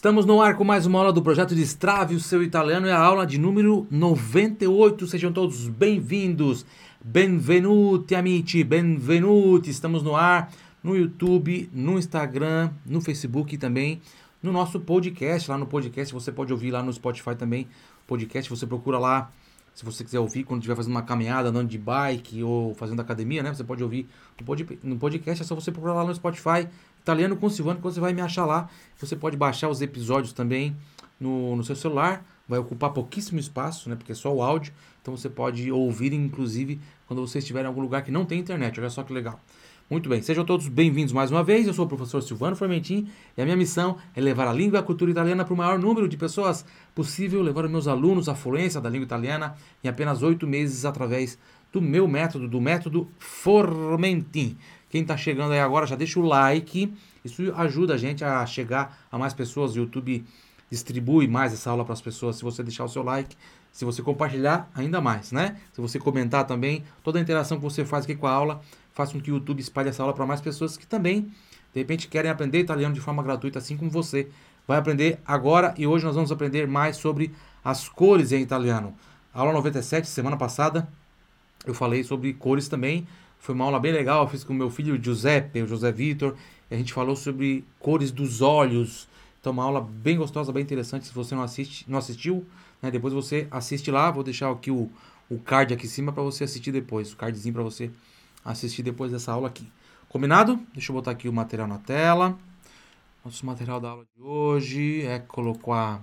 Estamos no ar com mais uma aula do projeto Destrave o Seu Italiano, é a aula de número 98. Sejam todos bem-vindos. Benvenuti, amici, benvenuti. Estamos no ar no YouTube, no Instagram, no Facebook e também no nosso podcast. Lá no podcast você pode ouvir lá no Spotify também. Podcast você procura lá, se você quiser ouvir quando estiver fazendo uma caminhada, andando de bike ou fazendo academia, né? Você pode ouvir no podcast, é só você procurar lá no Spotify, Italiano com Silvano, que você vai me achar lá. Você pode baixar os episódios também no seu celular, vai ocupar pouquíssimo espaço, né? Porque é só o áudio, então você pode ouvir, inclusive, quando você estiver em algum lugar que não tem internet. Olha só que legal. Muito bem, sejam todos bem-vindos mais uma vez. Eu sou o professor Silvano Formentin e a minha missão é levar a língua e a cultura italiana para o maior número de pessoas possível, levar os meus alunos à fluência da língua italiana em apenas 8 meses através do meu método, do método Formentin. Quem está chegando aí agora já deixa o like, isso ajuda a gente a chegar a mais pessoas. O YouTube distribui mais essa aula para as pessoas se você deixar o seu like, se você compartilhar ainda mais, né? Se você comentar também, toda a interação que você faz aqui com a aula faz com que o YouTube espalhe essa aula para mais pessoas que também, de repente, querem aprender italiano de forma gratuita, assim como você vai aprender agora. E hoje nós vamos aprender mais sobre as cores em italiano. Aula 97, semana passada, eu falei sobre cores também. Foi uma aula bem legal, eu fiz com o meu filho Giuseppe, o José Vitor, e a gente falou sobre cores dos olhos. Então, uma aula bem gostosa, bem interessante. Se você não assistiu, né, depois você assiste lá. Vou deixar aqui o card aqui em cima para você assistir depois. O cardzinho para você assistir depois dessa aula aqui. Combinado? Deixa eu botar aqui o material na tela. Nosso material da aula de hoje. Eccolo qua.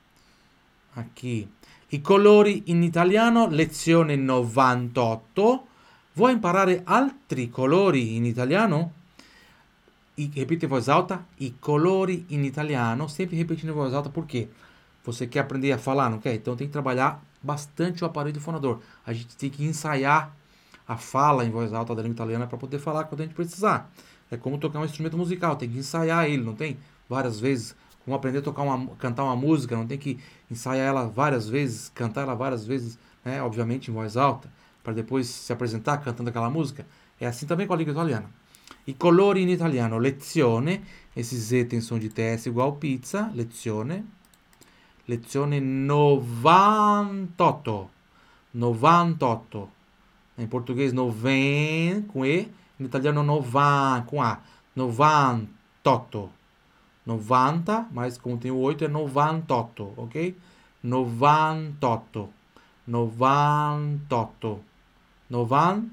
Aqui. I colori in italiano, lezione 98. Vuoi imparare altri colori in italiano? Repita em voz alta, i colori in italiano, sempre repetindo em voz alta, por quê? Você quer aprender a falar, não quer? Então tem que trabalhar bastante o aparelho fonador. A gente tem que ensaiar a fala em voz alta da língua italiana para poder falar quando a gente precisar. É como tocar um instrumento musical, tem que ensaiar ele, não tem? Várias vezes. Como aprender a cantar uma música, não tem que ensaiar ela várias vezes, cantar ela várias vezes, né? Obviamente em voz alta, para depois se apresentar cantando aquela música. É assim também com a língua italiana. I colori in italiano, lezione, esse Z tem som de TS igual pizza, lezione, lezione 98, 98, em português 90 com E, em italiano 90 com A, 98, 90, mas como tem o 8 é 98, ok? 98, 98, 90,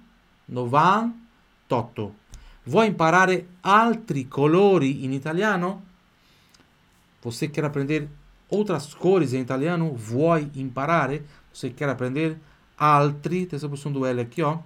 98. Vuoi imparare altri colori in italiano? Você quer aprender outras cores em italiano? Vuoi imparare? Você quer aprender altri, tem essa opção do L aqui, ó.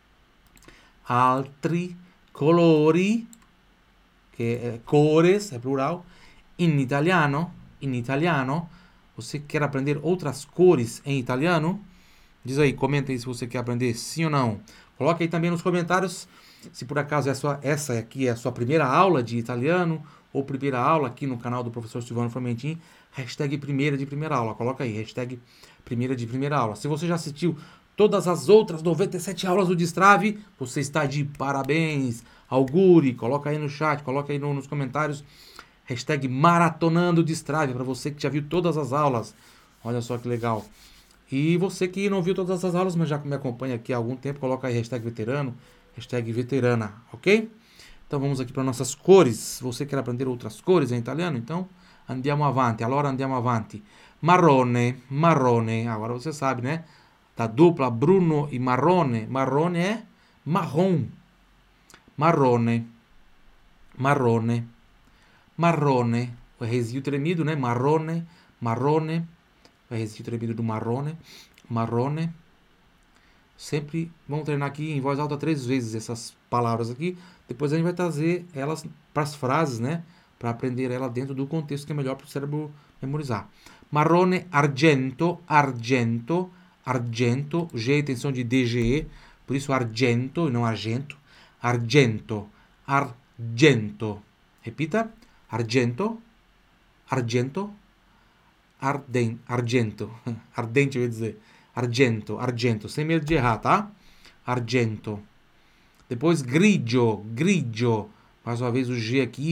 Altri colori, que é cores, é plural. In italiano, in italiano. Você quer aprender outras cores em italiano? Diz aí, comenta aí se você quer aprender sim ou não. Coloca aí também nos comentários se por acaso essa aqui é a sua primeira aula de italiano ou primeira aula aqui no canal do professor Silvano Formentin, hashtag primeira de primeira aula. Coloca aí, hashtag primeira de primeira aula. Se você já assistiu todas as outras 97 aulas do Destrave, você está de parabéns. Augure, coloca aí no chat, coloca aí nos comentários, hashtag maratonando Destrave, para você que já viu todas as aulas. Olha só que legal. E você que não viu todas as aulas, mas já me acompanha aqui há algum tempo, coloca aí hashtag veterano, hashtag veterana, ok? Então vamos aqui para nossas cores. Você quer aprender outras cores em italiano? Então andiamo avanti. Allora andiamo avanti. Marrone, marrone. Agora você sabe, né? Da dupla bruno e marrone. Marrone é marrom. Marrone, marrone, marrone. O Rzinho tremido, né? Marrone, marrone. O Rzinho tremido do marrone, marrone. Sempre vamos treinar aqui em voz alta 3 vezes essas palavras aqui. Depois a gente vai trazer elas para as frases, né? Para aprender ela dentro do contexto que é melhor para o cérebro memorizar. Marrone, argento, argento, argento. G tem som de DGE, por isso argento e não argento. Argento, argento. Repita. Argento, argento, argento. Ardente, eu ia dizer. Argento, argento, sem medo de errar, tá? Argento. Depois grigio, grigio. Mais uma vez o G aqui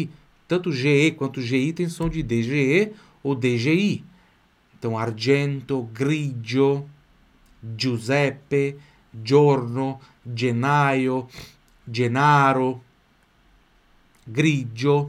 tanto GE quanto GI tem som de DGE ou DGI. Então, argento, grigio, Giuseppe, giorno, gennaio, gennaro, grigio,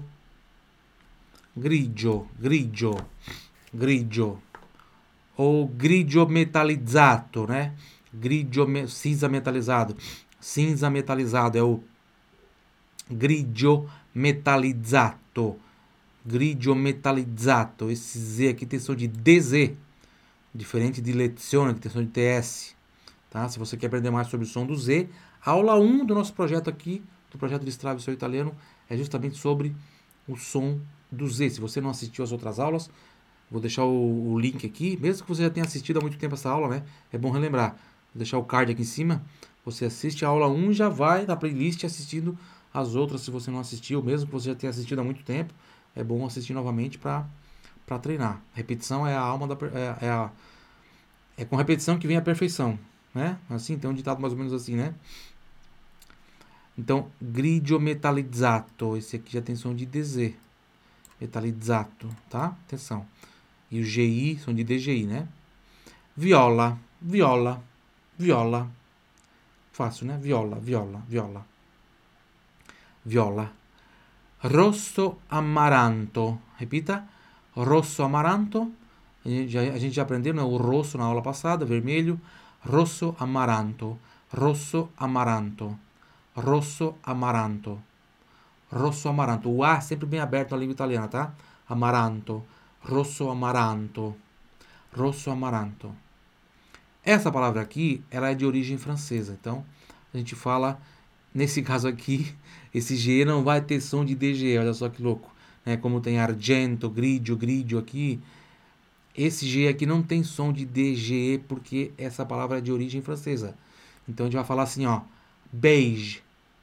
grigio. Ou grigio metalizzato, né? Cinza metalizado. Cinza metalizado é o grigio metalizzato. Grigio metalizzato. Esse Z aqui tem som de DZ. Diferente de lezione, que tem som de TS. Tá? Se você quer aprender mais sobre o som do Z, a aula 1 do nosso projeto aqui, do projeto Destrave Seu Italiano, é justamente sobre o som do Z. Se você não assistiu às outras aulas, vou deixar o link aqui, mesmo que você já tenha assistido há muito tempo essa aula, né? É bom relembrar. Vou deixar o card aqui em cima. Você assiste a aula 1 e já vai na playlist assistindo as outras, se você não assistiu, mesmo que você já tenha assistido há muito tempo. É bom assistir novamente para treinar. Repetição é a alma da... É com repetição que vem a perfeição, né? Assim, tem um ditado mais ou menos assim, né? Então, grigio metalizzato. Esse aqui já tem som de DZ. Metalizzato, tá? Atenção. E o GI são de DGI, né? Viola, viola, viola. Fácil, né? Viola, viola, viola. Viola. Rosso amaranto. Repita. Rosso amaranto. A gente já aprendeu, né? O rosso na aula passada, vermelho. Rosso amaranto. Rosso amaranto. Rosso amaranto. Rosso amaranto. O A sempre bem aberto na língua italiana, tá? Amaranto. Rosso amaranto. Rosso amaranto. Essa palavra aqui, ela é de origem francesa. Então, a gente fala, nesse caso aqui, esse G não vai ter som de DG. Olha só que louco. Né? Como tem argento, grigio aqui. Esse G aqui não tem som de DGE porque essa palavra é de origem francesa. Então, a gente vai falar assim, ó. Beige.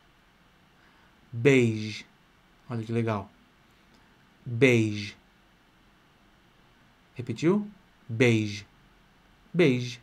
Beige. Olha que legal. Beige. Repetiu? Beige. Beige.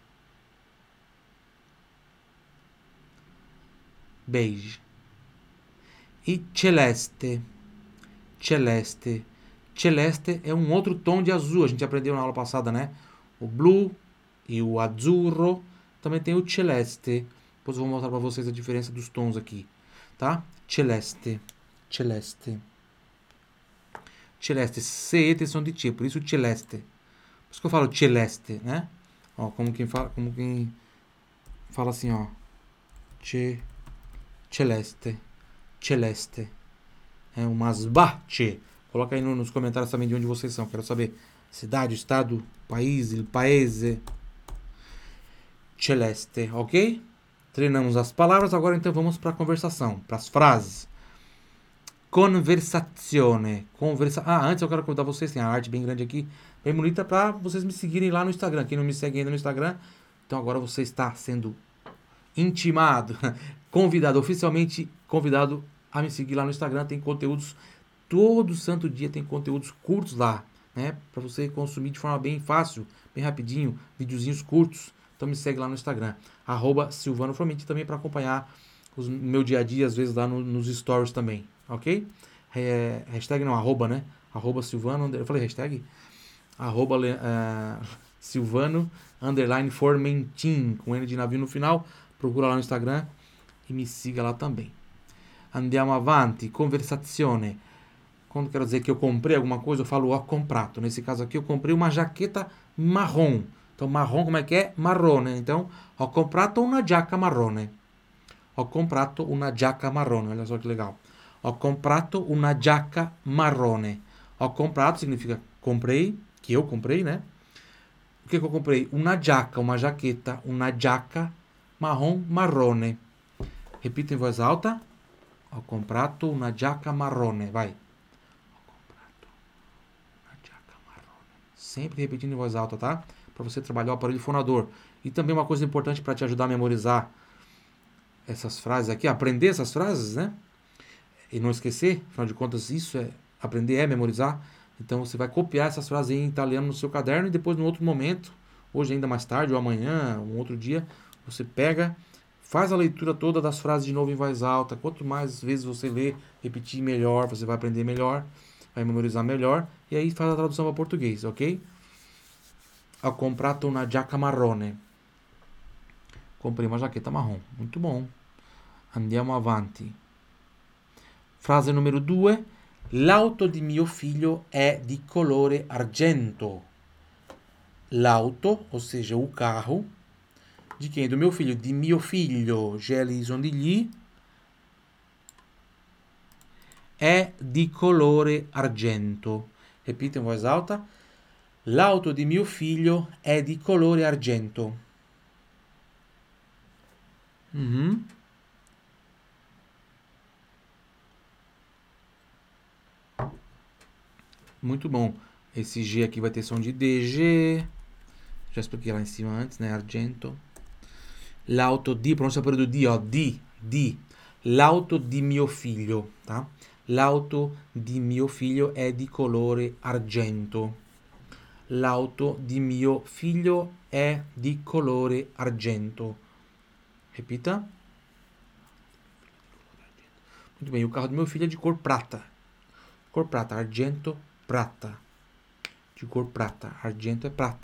Beige. E celeste. Celeste. Celeste é um outro tom de azul. A gente aprendeu na aula passada, né? O blue e o azzurro. Também tem o celeste. Depois eu vou mostrar para vocês a diferença dos tons aqui. Tá? Celeste. Celeste. Celeste. CE tem som de T, por isso celeste. Por isso que eu falo celeste, né? Ó, como quem fala assim, ó. Celeste. Celeste. É umas bache. Coloca aí nos comentários também de onde vocês são. Quero saber. Cidade, estado, país, il paese. Celeste, ok? Treinamos as palavras, agora então vamos para a conversação, para as frases. Conversazione. Antes eu quero convidar vocês, tem a arte bem grande aqui, bem bonita, para vocês me seguirem lá no Instagram. Quem não me segue ainda no Instagram, então agora você está sendo intimado, convidado, oficialmente convidado a me seguir lá no Instagram. Tem conteúdos, todo santo dia tem conteúdos curtos lá, né? Para você consumir de forma bem fácil, bem rapidinho, videozinhos curtos. Então me segue lá no Instagram, @SilvanoFromiti, também para acompanhar o meu dia a dia, às vezes lá nos stories também, ok? Hashtag não, arroba, né? @Silvano, eu falei hashtag? Silvano, _Formentin, com N de navio no final. Procura lá no Instagram e me siga lá também. Andiamo avanti, conversazione. Quando eu quero dizer que eu comprei alguma coisa, eu falo ho comprato. Nesse caso aqui, eu comprei uma jaqueta marrom. Então, marrom, como é que é? Marrone. Então, ho comprato una giacca marrone. Ho comprato una giacca marrone. Olha só que legal. Ho comprato una giacca marrone. Ho comprato significa comprei, que eu comprei, né? O que eu comprei? Una giacca, uma jaqueta. Una giacca marrom, marrone. Repita em voz alta. Ho comprato una giacca marrone. Vai. Ho comprato una giacca marrone. Sempre repetindo em voz alta, tá? Para você trabalhar o aparelho fonador. E também uma coisa importante para te ajudar a memorizar essas frases aqui, aprender essas frases, né? E não esquecer, afinal de contas, aprender é memorizar. Então você vai copiar essas frases em italiano no seu caderno e depois, no outro momento, hoje ainda mais tarde ou amanhã, um outro dia, você pega, faz a leitura toda das frases de novo em voz alta. Quanto mais vezes você ler, repetir melhor, você vai aprender melhor. vai memorizar melhor e aí faz a tradução para português, ok? Ho comprato una giacca marrone. Comprei uma jaqueta marrom. Muito bom. Andiamo avanti. Frase numero 2. L'auto di mio figlio è di colore argento. L'auto, ou seja, o carro, de quem? Do meu filho. Di mio figlio, GLI sono di gli, è di colore argento. Repita in voz alta. L'auto di mio figlio è di colore argento. Uhum. Muito bom. Esse G aqui vai ter som de DG. Já expliquei lá em cima antes, né? Argento. L'auto di, pronuncia per do di, ó. Di. L'auto di mio figlio, tá? L'auto di mio figlio è di colore argento. L'auto di mio figlio è di colore argento. Repita. Muito bem, o carro do meu filho é de cor prata. Cor prata, argento, prata. De cor prata. Argento é prata.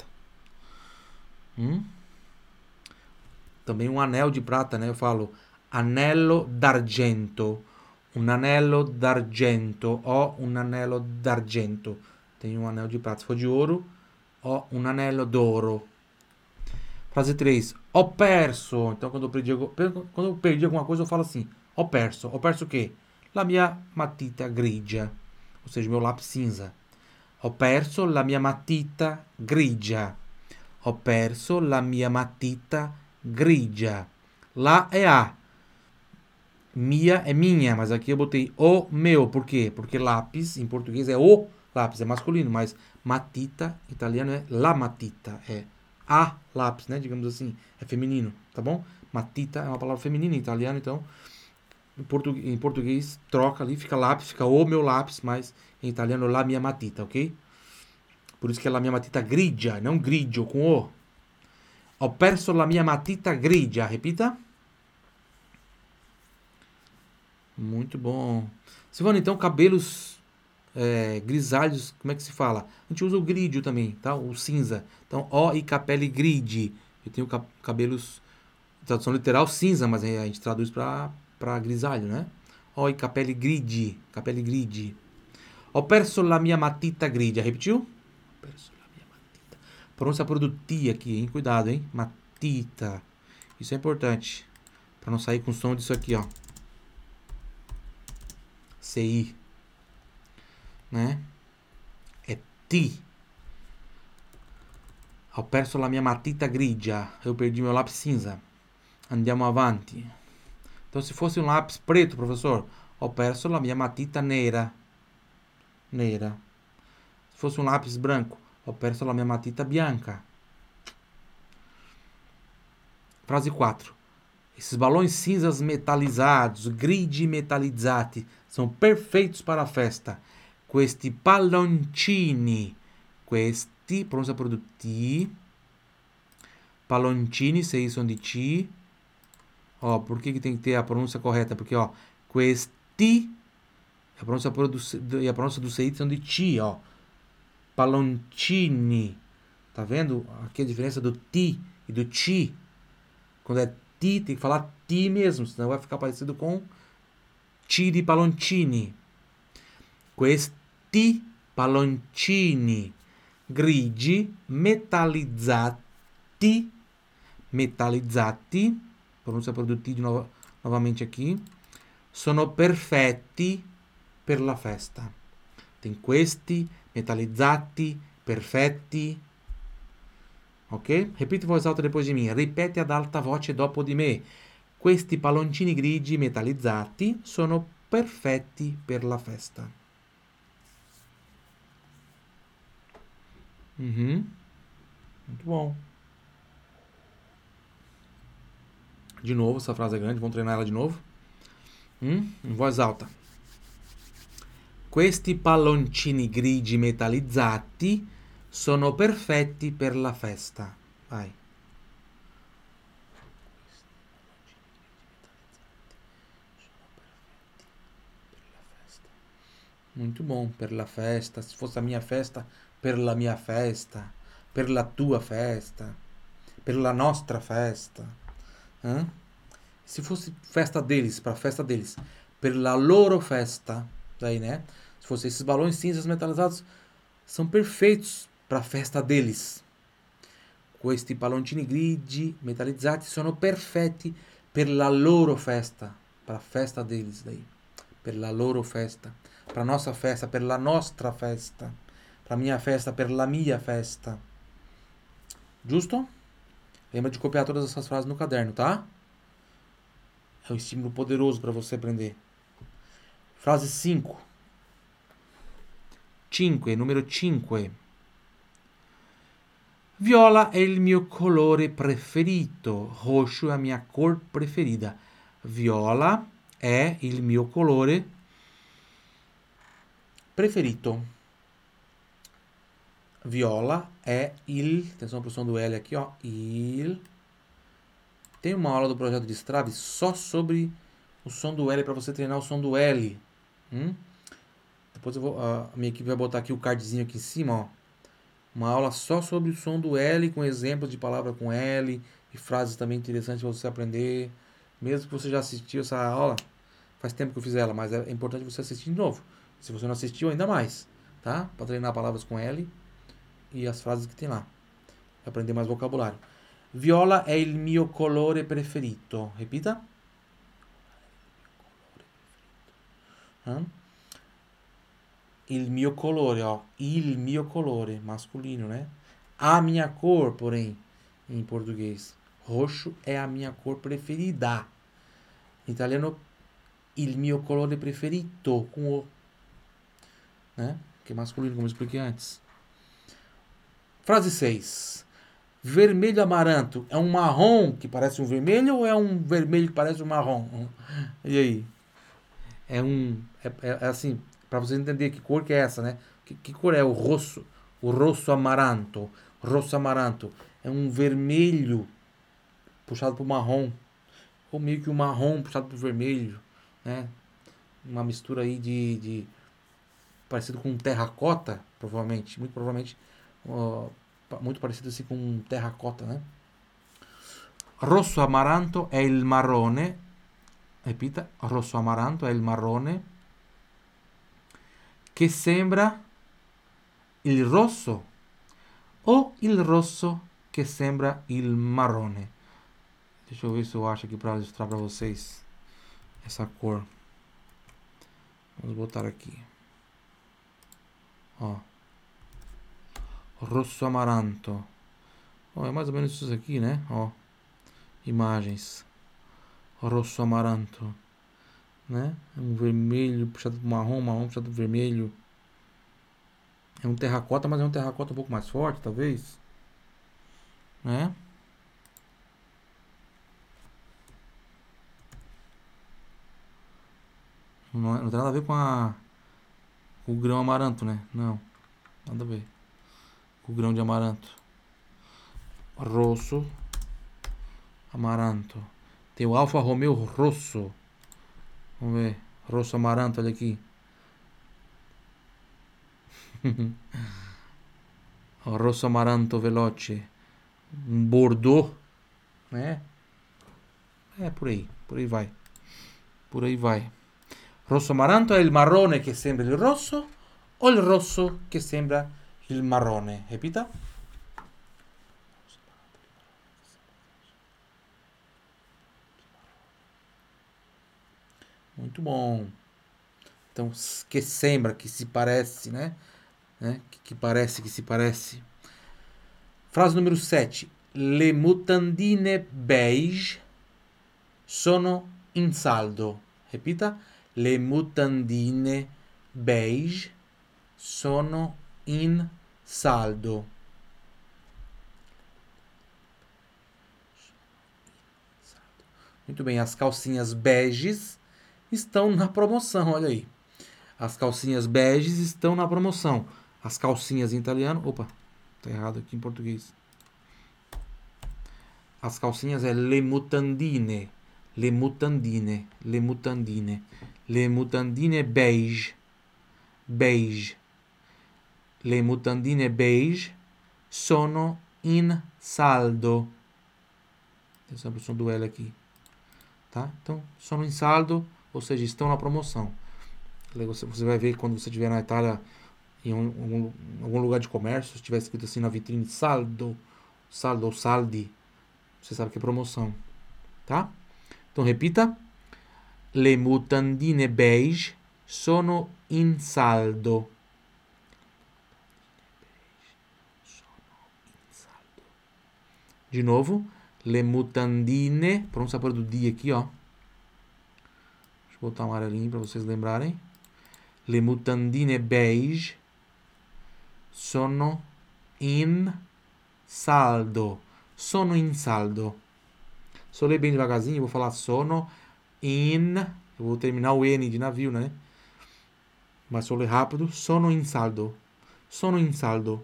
Também um anel de prata, né? Eu falo anello d'argento. Un anello d'argento. Ho un anello d'argento. Tenho um anel de prata. Se for de ouro, ho un anello d'oro. Frase 3. Ho perso. Então, quando eu perdi alguma coisa, eu falo assim. Ho perso. Ho perso o quê? La mia matita grigia. Ou seja, meu lápis cinza. Ho perso la mia matita grigia. Ho perso la mia matita grigia. Lá é a. Mia é minha, mas aqui eu botei o meu. Por quê? Porque lápis, em português, é o lápis, é masculino, mas matita, em italiano, é la matita, é a lápis, né? Digamos assim, é feminino, tá bom? Matita é uma palavra feminina em italiano, então em português troca ali, fica lápis, fica o meu lápis, mas em italiano la mia matita, ok? Por isso que é la mia matita grigia, não grigio, com o. Ho perso la mia matita grigia, repita. Muito bom. Silvana, então, cabelos grisalhos, como é que se fala? A gente usa o gridio também, tá? O cinza. Então, ho i capelli grigi. Eu tenho cabelos, tradução literal, cinza, mas a gente traduz para grisalho, né? Ho i capelli grigi. Capelli grigi. Ho perso la mia matita grigia. Repetiu? Ho perso la mia matita. Pronúncia produtiva aqui, hein? Cuidado, hein? Matita. Isso é importante. Para não sair com som disso aqui, ó. CI, né? É ti. Ho perso la mia matita grigia. Eu perdi meu lápis cinza. Andiamo avanti. Então, se fosse um lápis preto, professor, ho perso la mia matita nera. Nera. Se fosse um lápis branco, ho perso la mia matita bianca. Frase 4. Esses balões cinzas metalizados, grigi metallizzati, são perfeitos para a festa. Questi palloncini, questi, pronúncia por do ti. Palloncini, sei som de ti. Ó, por que tem que ter a pronúncia correta? Porque, ó, questi, a pronúncia e a pronúncia do sei são de ti, ó. Palloncini. Tá vendo? Aqui a diferença do ti e do ti. Quando é ti, tem que falar ti mesmo, senão vai ficar parecido com tiri palloncini. Questi palloncini grigi metallizzati, pronúncia produtiva novamente aqui, sono perfetti per la festa. Tem questi, metallizzati, perfetti. Ok? Repita in voz alta depois de mim. Ripete ad alta voce dopo di me. Questi palloncini grigi metallizzati sono perfetti per la festa. Muito bom. De novo, essa frase é grande, vamos treinar ela de novo. Em voz alta. Questi palloncini grigi metallizzati sono perfetti per la festa. Vai. Muito bom. Per la festa. Se fosse a minha festa, per la mia festa. Per la tua festa. Per la nostra festa. Hã? Se fosse festa deles, para festa deles. Per la loro festa. Daí, né? Se fosse esses balões cinzas metalizados, são perfeitos para a festa deles. Questi palloncini grigi metallizzati sono perfetti per la loro festa. Para a festa deles daí. Per la loro festa. Para nossa festa, per la nostra festa. Para minha festa, per la mia festa. Giusto? Lembra de copiar todas essas frases no caderno, tá? É um estímulo poderoso para você aprender. Frase 5. 5, numero 5. Viola è il mio colore preferito. Roxo è la mia cor preferida. Viola è il mio colore preferito. Viola è il... Atenção para o som do L aqui, ó. Il... Tem uma aula do projeto de Strave só sobre o som do L para você treinar o som do L. Depois eu vou, a minha equipe vai botar aqui o cardzinho aqui em cima, ó. Uma aula só sobre o som do L, com exemplos de palavra com L e frases também interessantes para você aprender. Mesmo que você já assistiu essa aula, faz tempo que eu fiz ela, mas é importante você assistir de novo. Se você não assistiu, ainda mais, tá? Para treinar palavras com L e as frases que tem lá. Aprender mais vocabulário. Viola è il mio colore preferito. Repita. Il mio colore, ó. Il mio colore, masculino, né? A minha cor, porém, em português. Roxo é a minha cor preferida. Em italiano, il mio colore preferito, com o. Né? Que é masculino, como eu expliquei antes. Frase 6. Vermelho amaranto. É um marrom que parece um vermelho ou é um vermelho que parece um marrom? E aí? É assim, para você entender que cor que é essa, né? Que cor é o rosso? O rosso amaranto. Rosso amaranto. É um vermelho puxado para o marrom. Ou meio que um marrom puxado para o vermelho, né? Uma mistura aí de parecido com terracota, provavelmente. Muito provavelmente. Muito parecido assim com terracota, né? Rosso amaranto è il marrone. Repita, rosso amaranto è il marrone che sembra il rosso o il rosso che sembra il marrone. Deixa eu ver se eu acho aqui para ilustrar para vocês essa cor. Vamos botar aqui. Ó. Rosso amaranto. Ó, é mais ou menos isso aqui, né? Ó. Imagens. Rosso amaranto, né? É um vermelho puxado pro marrom, marrom puxado pro vermelho. É um terracota, mas é um terracota um pouco mais forte, talvez, né? Não tem nada a ver com o grão amaranto, né? Não, nada a ver com o grão de amaranto. Rosso amaranto. Tem o Alfa Romeo Rosso. Vamos ver. Rosso amaranto, olha aqui. Rosso amaranto veloce. Um Bordeaux, né? É por aí vai. Por aí vai. Rosso amaranto è il marrone che sembra il rosso o il rosso che sembra il marrone? Repita. Muito bom. Então, que sembra, que se parece, né? Que parece, que se parece. Frase número 7. Le mutandine beige sono in saldo. Repita. Le mutandine beige sono in saldo. Muito bem, as calcinhas beges estão na promoção, olha aí. As calcinhas beges estão na promoção. As calcinhas em italiano... Opa, tá errado aqui em português. As calcinhas é le mutandine. Le mutandine. Le mutandine. Le mutandine beige. beige. Le mutandine beige sono in saldo. Tem sempre o som do L aqui. Tá? Então, sono in saldo, ou seja, estão na promoção. Você vai ver quando você estiver na Itália, em algum lugar de comércio, se tiver escrito assim na vitrine saldo ou saldi, você sabe que é promoção. Tá? Então, repita. Le mutandine beige sono in saldo. De novo, le mutandine, pronto, pôr do D aqui, ó. Deixa eu botar um amarelinho para vocês lembrarem. Le mutandine beige sono in saldo. Sono in saldo. Se eu ler bem devagarzinho, eu vou falar sono in. Eu vou terminar o N de navio, né? Mas se eu ler rápido, sono in saldo. Sono in saldo.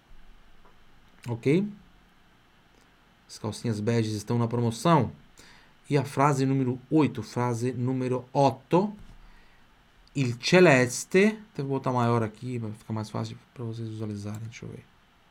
Ok? As calcinhas beges estão na promoção. E a frase número 8, frase número 8. Il celeste. Vou botar maior aqui para ficar mais fácil para vocês visualizarem. Deixa eu ver.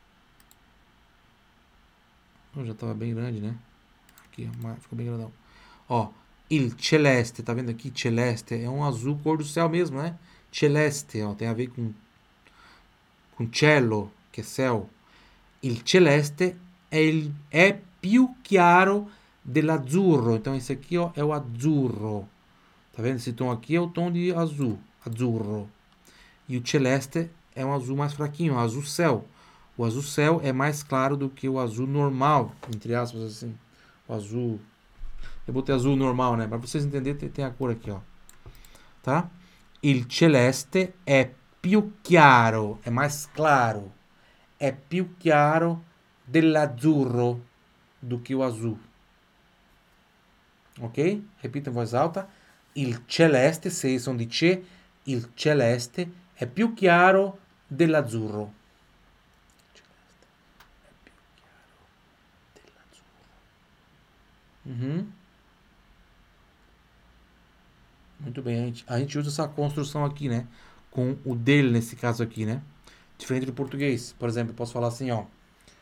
Já estava bem grande, né? Aqui, ficou bem grandão. Ó, il celeste, tá vendo aqui? Celeste é um azul cor do céu mesmo, né? Celeste, ó, tem a ver com cielo, que é céu. Il celeste é più chiaro dell'azzurro. Então esse aqui, ó, é o azzurro. Tá vendo? Esse tom aqui é o tom de azul, azzurro. E o celeste é um azul mais fraquinho, um azul céu. O azul céu é mais claro do que o azul normal, entre aspas assim. O azul... Eu botei azul normal, né? Para vocês entenderem, tem a cor aqui, ó. Tá? Il celeste è più chiaro, é mais claro. É più chiaro dell'azzurro do que o azul. Ok? Repita em voz alta. Il celeste, se som di C, il celeste è più chiaro dell'azzurro. Uhum. Muito bem, a gente usa essa construção aqui, né? Com o dele nesse caso aqui, né? Diferente do português. Por exemplo, eu posso falar assim, ó.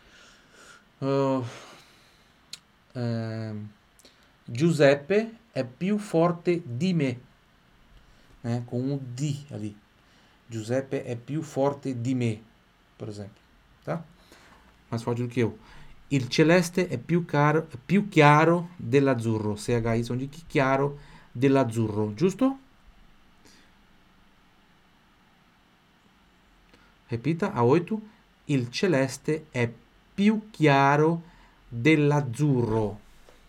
Giuseppe è più forte di me. Né? Com um di ali. Giuseppe è più forte di me, por exemplo. Tá? Mais forte do que eu. Il celeste è più chiaro dell'azzurro. CHI sono di chiaro dell'azzurro, giusto? Repita, a 8. Il celeste è più chiaro dell'azzurro.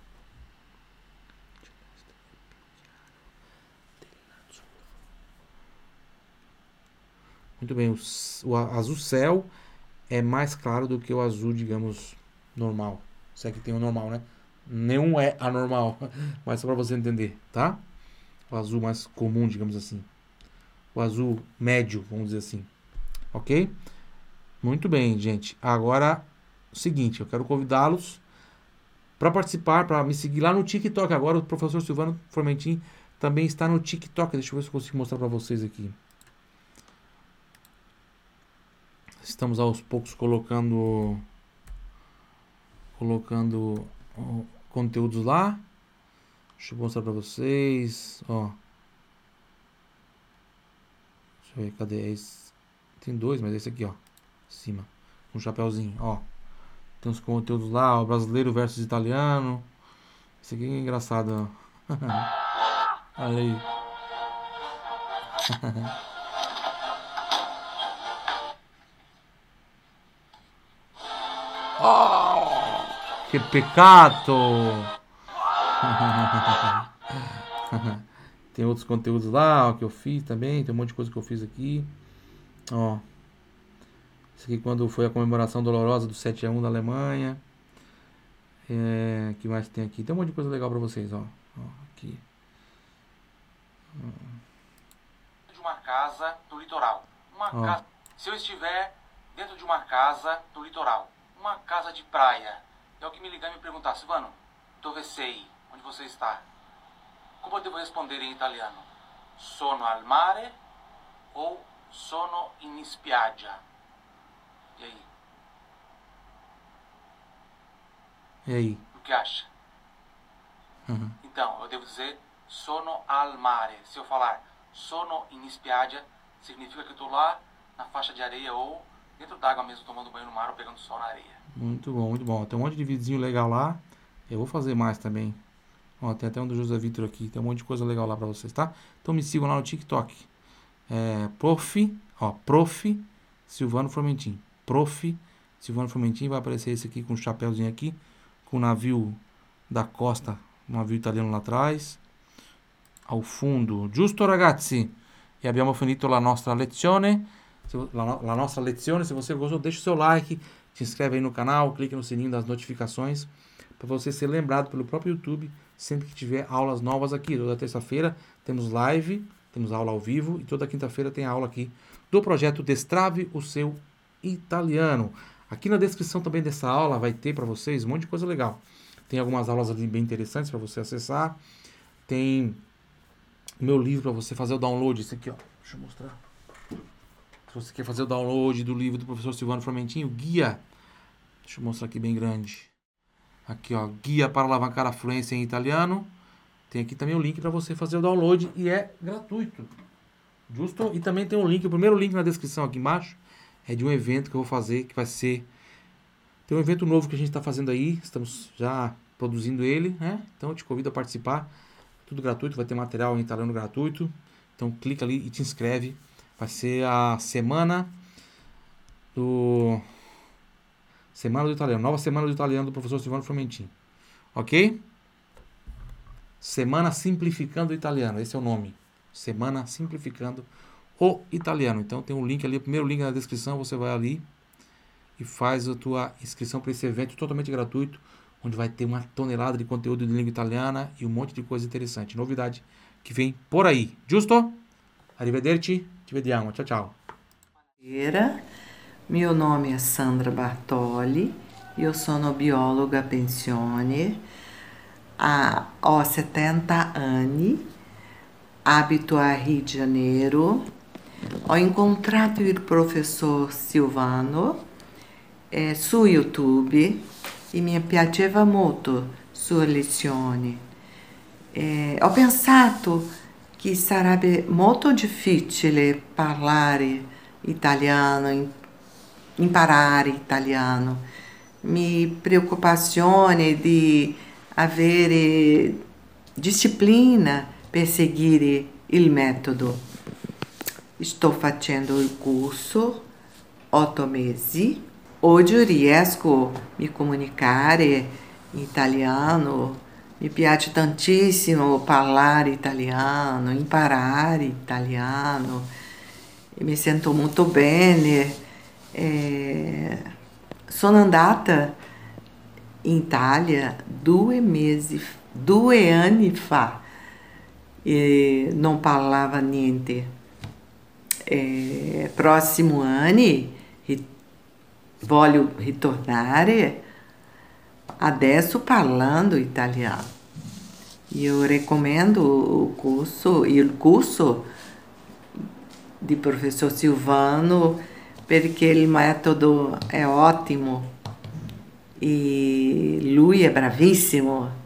Muito bem, o azul céu é mais claro do que o azul, digamos, normal. Se é que tem o normal, né? Nenhum é anormal, mas só para você entender, tá? O azul mais comum, digamos assim. O azul médio, vamos dizer assim. Ok? Muito bem, gente. Agora, o seguinte, eu quero convidá-los para participar, para me seguir lá no TikTok. Agora o professor Silvano Formentin também está no TikTok. Deixa eu ver se eu consigo mostrar para vocês aqui. Estamos aos poucos colocando conteúdos lá. Deixa eu mostrar para vocês. Ó. Deixa eu ver, cadê esse? Tem dois, mas esse aqui, ó. Em cima. Um chapéuzinho, ó. Tem uns conteúdos lá, ó. Brasileiro versus italiano. Esse aqui é engraçado, ó. Olha aí. Oh, che peccato! Tem outros conteúdos lá, ó, que eu fiz também. Tem um monte de coisa que eu fiz aqui. Ó. Isso aqui quando foi a comemoração dolorosa do 7-1 da Alemanha. Que mais tem aqui? Tem um monte de coisa legal pra vocês, ó. Ó, aqui. De uma casa no litoral. Casa. Se eu estiver dentro de uma casa no litoral, uma casa de praia, e alguém me ligar e me perguntar, Silvano, dove sei? Onde você está? Como eu devo responder em italiano? Sono al mare ou sono in spiaggia. E aí? E aí? O que acha? Então, eu devo dizer sono al mare. Se eu falar sono in spiaggia, significa que eu estou lá na faixa de areia ou dentro d'água mesmo, tomando banho no mar ou pegando sol na areia. Muito bom, muito bom. Tem um monte de videozinho legal lá. Eu vou fazer mais também. Ó, tem até um do José Vitor aqui. Tem um monte de coisa legal lá pra vocês, tá? Então me sigam lá no TikTok. Prof. Silvano Formentin. Prof. Silvano Formentin. Vai aparecer esse aqui com o chapéuzinho aqui. Com o navio da costa. Um navio italiano lá atrás. Ao fundo. Giusto, ragazzi? E abbiamo finito la nostra lezione. La nostra lezione. Se você gostou, deixa o seu like. Se inscreve aí no canal. Clique no sininho das notificações. Para você ser lembrado pelo próprio YouTube sempre que tiver aulas novas aqui. Toda terça-feira temos live, temos aula ao vivo e toda quinta-feira tem aula aqui do projeto Destrave o Seu Italiano. Aqui na descrição também dessa aula vai ter para vocês um monte de coisa legal. Tem algumas aulas ali bem interessantes para você acessar. Tem o meu livro para você fazer o download. Esse aqui, ó. Deixa eu mostrar. Se você quer fazer o download do livro do professor Silvano Formentin, o guia. Deixa eu mostrar aqui bem grande. Aqui, ó, guia para alavancar a fluência em italiano. Tem aqui também o link para você fazer o download e é gratuito. Justo? E também tem um link, o primeiro link na descrição aqui embaixo é de um evento que eu vou fazer, que vai ser... Tem um evento novo que a gente está fazendo aí, estamos já produzindo ele, né? Então eu te convido a participar. Tudo gratuito, vai ter material em italiano gratuito. Então clica ali e te inscreve. Vai ser a semana do italiano, nova semana do italiano do professor Silvano Formentin. Ok? Semana Simplificando o Italiano, esse é o nome. Semana Simplificando o Italiano. Então tem um link ali, o primeiro link na descrição, você vai ali e faz a tua inscrição para esse evento totalmente gratuito, onde vai ter uma tonelada de conteúdo de língua italiana e um monte de coisa interessante, novidade que vem por aí. Giusto? Arrivederci, ci vediamo, ciao ciao. Meu nome é Sandra Bartoli, eu sono biologa a pensione, ho 70 anni, abito a Rio de Janeiro. Ho incontrato il professor Silvano su YouTube e mi piaceva molto sue lezioni. Ho pensato che sarebbe molto difficile parlare italiano, imparare italiano. Mi preoccupazione di avere disciplina per seguire il metodo. Sto facendo il corso 8 mesi. Oggi riesco a mi comunicare in italiano. Mi piace tantissimo parlare italiano, imparare italiano. E mi sento molto bene. Sono andata in Italia 2 anni fa e non parlava niente. Próximo anno voglio ritornare adesso parlando italiano. Io recomendo il corso di professor Silvano perché il metodo è ottimo e lui è bravissimo.